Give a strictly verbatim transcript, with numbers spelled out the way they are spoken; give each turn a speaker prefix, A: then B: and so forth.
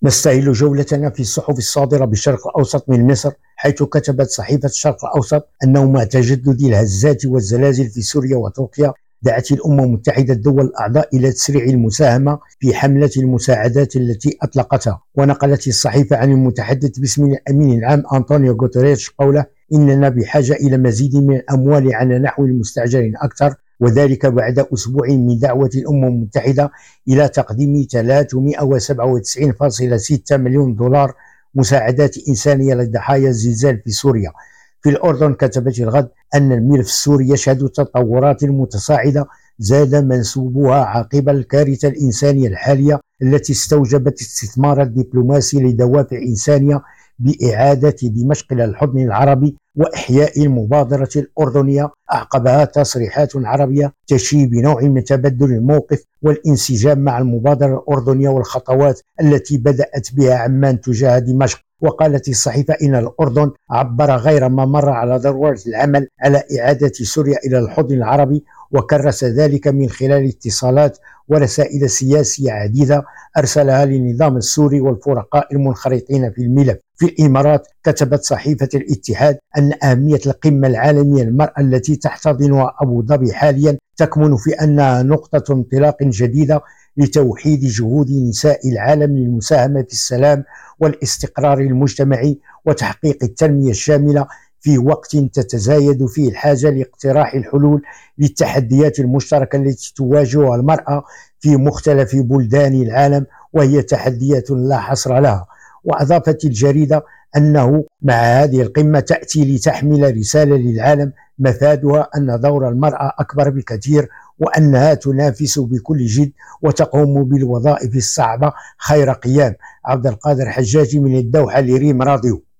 A: نستهل جولتنا في الصحف الصادرة بالشرق الأوسط من مصر، حيث كتبت صحيفة الشرق الأوسط أنه مع تجدد الهزات والزلازل في سوريا وتركيا دعت الأمم المتحدة الدول الأعضاء إلى تسريع المساهمة في حملة المساعدات التي أطلقتها. ونقلت الصحيفة عن المتحدث باسم الأمين العام أنطونيو غوتيريش قوله: إننا بحاجة إلى مزيد من الأموال على نحو مستعجل أكثر، وذلك بعد أسبوع من دعوة الأمم المتحدة إلى تقديم ثلاثمئة وسبعة وتسعين فاصلة ستة مليون دولار مساعدات إنسانية لضحايا الزلزال في سوريا. في الأردن كتبت الغد أن الملف السوري يشهد تطورات متصاعدة زاد منسوبها عقب الكارثة الإنسانية الحالية التي استوجبت استثمار الدبلوماسي لدوافع إنسانية بإعادة دمشق إلى الحضن العربي وإحياء المبادرة الأردنية. أعقبها تصريحات عربية تشير بنوع من تبدل الموقف والانسجام مع المبادرة الأردنية والخطوات التي بدأت بها عمان تجاه دمشق. وقالت الصحيفة إن الأردن عبر غير ما مر على ضرورة العمل على إعادة سوريا إلى الحضن العربي، وكرس ذلك من خلال اتصالات ورسائل سياسية عديدة أرسلها للنظام السوري والفرقاء المنخرطين في الملف. في الإمارات كتبت صحيفة الاتحاد أن أهمية القمة العالمية للمرأة التي تحتضنها أبو ظبي حاليا تكمن في أنها نقطة انطلاق جديدة لتوحيد جهود نساء العالم للمساهمة في السلام والاستقرار المجتمعي وتحقيق التنمية الشاملة في وقت تتزايد فيه الحاجة لاقتراح الحلول للتحديات المشتركة التي تواجهها المرأة في مختلف بلدان العالم، وهي تحديات لا حصر لها. وأضافت الجريدة أنه مع هذه القمة تأتي لتحمل رسالة للعالم مفادها أن دور المرأة أكبر بكثير، وأنها تنافس بكل جد وتقوم بالوظائف الصعبة خير قيام. عبد القادر حجاجي من الدوحة لريم راديو.